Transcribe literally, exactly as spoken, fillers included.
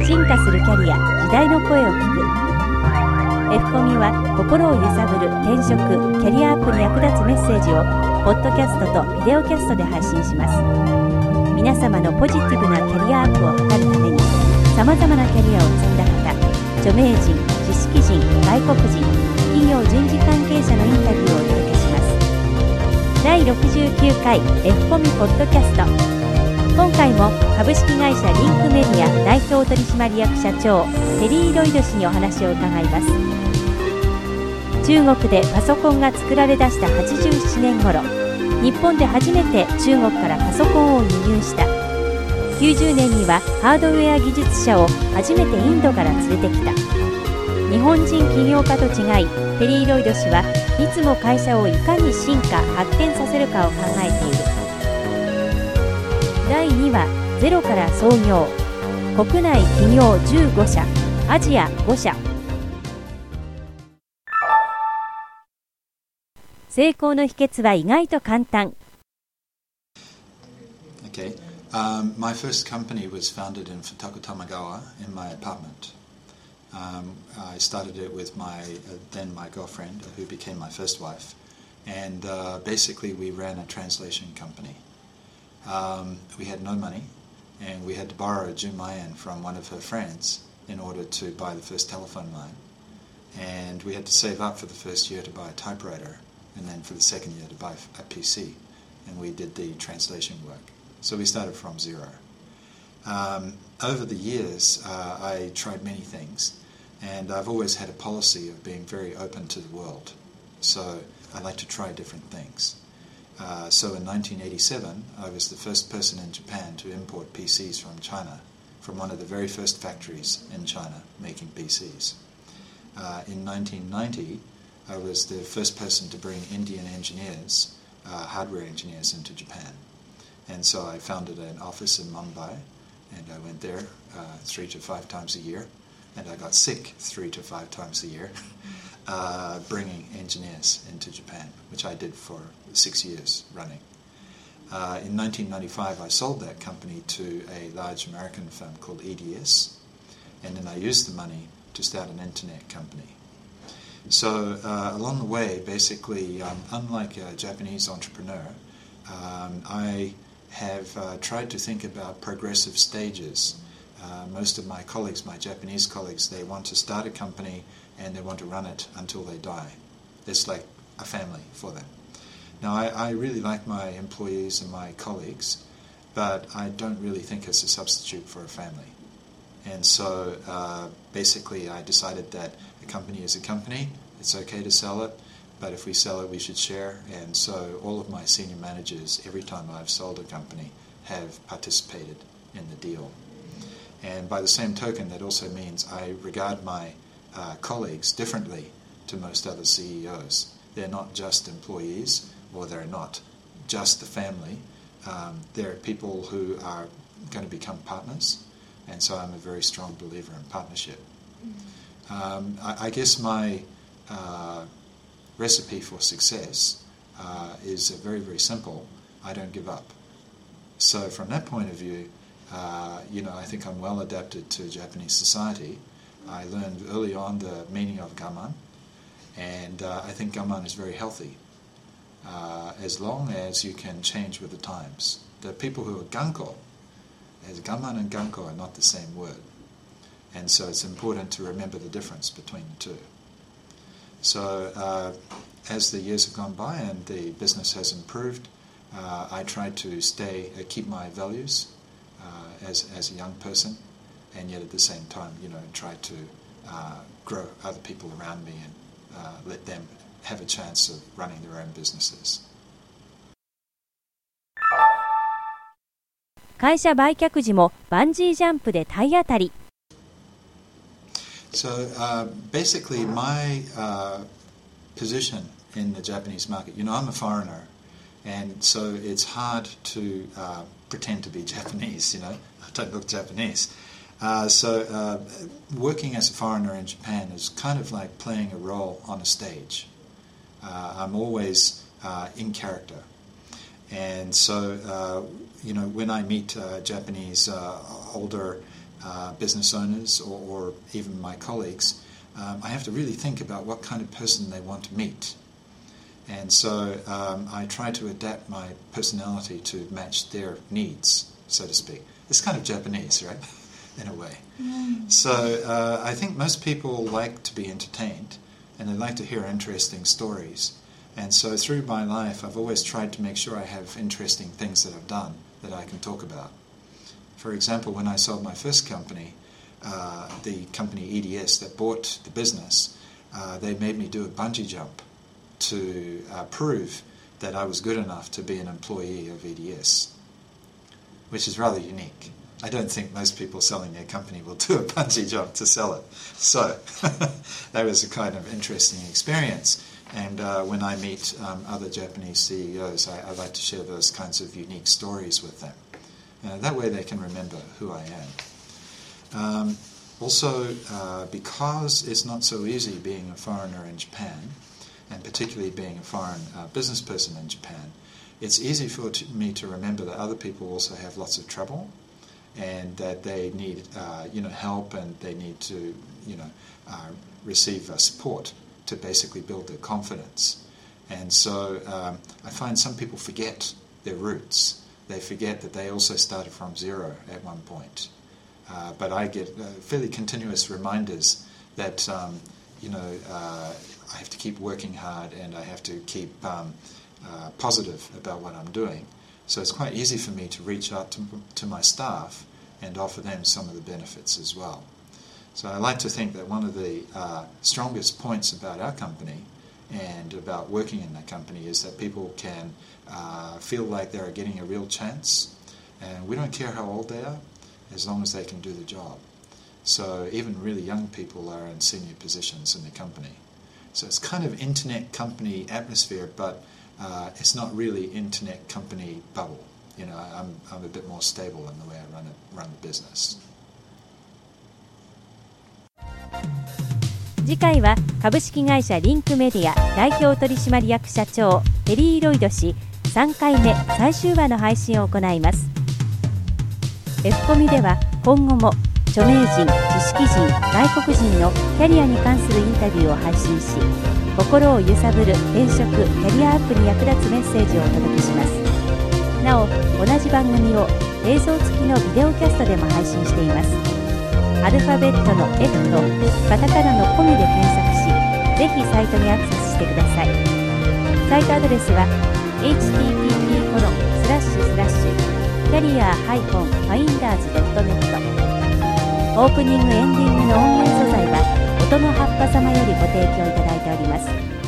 進化するキャリア、時代の声を聞く。 F コミは心を揺さぶる転職・キャリアアップに役立つメッセージをポッドキャストとビデオキャストで配信します。皆様のポジティブなキャリアアップを図るために、さまざまなキャリアを積んだ方、著名人、知識人、外国人、企業人事関係者のインタビューをお届けします。だいろくじゅうきゅうかい F コミポッドキャスト。今回も株式会社リンクメディア代表取締役社長テリー・ロイド氏にお話を伺います。中国でパソコンが作られ出したはちじゅうななねん頃、日本で初めて中国からパソコンを輸入した。きゅうじゅうねんにはハードウェア技術者を初めてインドから連れてきた。日本人起業家と違い、テリー・ロイド氏はいつも会社をいかに進化・発展させるかを考えている。だいにわ、ゼロから創業。国内企業じゅうごしゃ、アジアごしゃ。成功の秘訣は意外と簡単。 Okay. Um, my first company was founded in Futako Tamagawa in my apartment. Um, I started it with my uh, then my girlfriend, who became my first wife, and uh, basically we ran a translation company. Um, we had no money, and we had to borrow Jumayan from one of her friends in order to buy the first telephone line. And we had to save up for the first year to buy a typewriter, and then for the second year to buy a P C. And we did the translation work. So we started from zero. Um, over the years, uh, I tried many things, and I've always had a policy of being very open to the world. So I like to try different things. Uh, so in nineteen eighty-seven, I was the first person in Japan to import P Cs from China, from one of the very first factories in China making P Cs. Uh, in nineteen ninety, I was the first person to bring Indian engineers, uh, hardware engineers, into Japan. And so I founded an office in Mumbai, and I went there uh, three to five times a year, and I got sick three to five times a year. Uh, bringing engineers into Japan, which I did for six years running. Uh, in nineteen ninety-five, I sold that company to a large American firm called E D S, and then I used the money to start an internet company. So uh, along the way, basically, um, unlike a Japanese entrepreneur, um, I have uh, tried to think about progressive stages. Uh, most of my colleagues, my Japanese colleagues, they want to start a company and they want to run it until they die. It's like a family for them. Now, I, I really like my employees and my colleagues, but I don't really think it's a substitute for a family. And so uh, basically I decided that a company is a company, it's okay to sell it, but if we sell it, we should share. And so all of my senior managers, every time I've sold a company, have participated in the deal. And by the same token, that also means I regard my uh, colleagues differently to most other C E Os. They're not just employees, or they're not just the family. Um, they're people who are going to become partners, and so I'm a very strong believer in partnership. Um, I, I guess my uh, recipe for success uh, is very, very simple. I don't give up. So from that point of view, Uh, you know, I think I'm well adapted to Japanese society. I learned early on the meaning of gaman, and uh, I think gaman is very healthy, uh, as long as you can change with the times. The people who are ganko, as gaman and ganko are not the same word, and so it's important to remember the difference between the two. So uh, as the years have gone by and the business has improved, uh, I try to stay, uh, keep my values, Uh, as as a young person, and yet at the same time, you know, try to uh, grow other people around me and uh, let them have a chance of running their own businesses. 会社売却時もバンジージャンプで体当たり。 So uh, basically, my uh, position in the Japanese market, you know, I'm a foreigner, and so it's hard to uh, pretend to be Japanese, you know, I don't look Japanese. Uh, so uh, working as a foreigner in Japan is kind of like playing a role on a stage. Uh, I'm always uh, in character. And so, uh, you know, when I meet uh, Japanese uh, older uh, business owners or, or even my colleagues, um, I have to really think about what kind of person they want to meet. And so um, I try to adapt my personality to match their needs, so to speak. It's kind of Japanese, right? In a way. Mm. So uh, I think most people like to be entertained and they like to hear interesting stories. And so through my life, I've always tried to make sure I have interesting things that I've done that I can talk about. For example, when I sold my first company, uh, the company E D S that bought the business, uh, they made me do a bungee jump to uh, prove that I was good enough to be an employee of E D S, which is rather unique. I don't think most people selling their company will do a bungee jump to sell it. So that was a kind of interesting experience. And uh, when I meet um, other Japanese C E Os, I, I like to share those kinds of unique stories with them. Uh, that way they can remember who I am. Um, also, uh, because it's not so easy being a foreigner in Japan, and particularly being a foreign uh, business person in Japan, it's easy for t- me to remember that other people also have lots of trouble, and that they need, uh, you know, help, and they need to, you know, uh, receive uh, support to basically build their confidence. And so um, I find some people forget their roots. They forget that they also started from zero at one point. Uh, but I get uh, fairly continuous reminders that, um, you know, uh, I have to keep working hard and I have to keep um, uh, positive about what I'm doing. So it's quite easy for me to reach out to, to my staff and offer them some of the benefits as well. So I like to think that one of the uh, strongest points about our company and about working in that company is that people can uh, feel like they're getting a real chance, and we don't care how old they are as long as they can do the job. So even really young people are in senior positions in the company. So it's kind of internet company atmosphere, but uh, it's not really internet company bubble. You know, I'm I'm a bit more stable in the way I run it, run the business. 次回は株式会社リンクメディア代表取締役社長ペリー・ロイド氏さんかいめ最終話の配信を行います。 F コミでは今後も著名人、知識人、外国人のキャリアに関するインタビューを配信し、心を揺さぶる転職・キャリアアップに役立つメッセージをお届けします。なお、同じ番組を映像付きのビデオキャストでも配信しています。アルファベットの F とカタカナのコミで検索し、ぜひサイトにアクセスしてください。サイトアドレスは エイチティーティーピー コロンスラッシュスラッシュキャリア ファインダーズ ドットネット オープニングエンディングの音源素材は音の葉っぱ様よりご提供いただいております。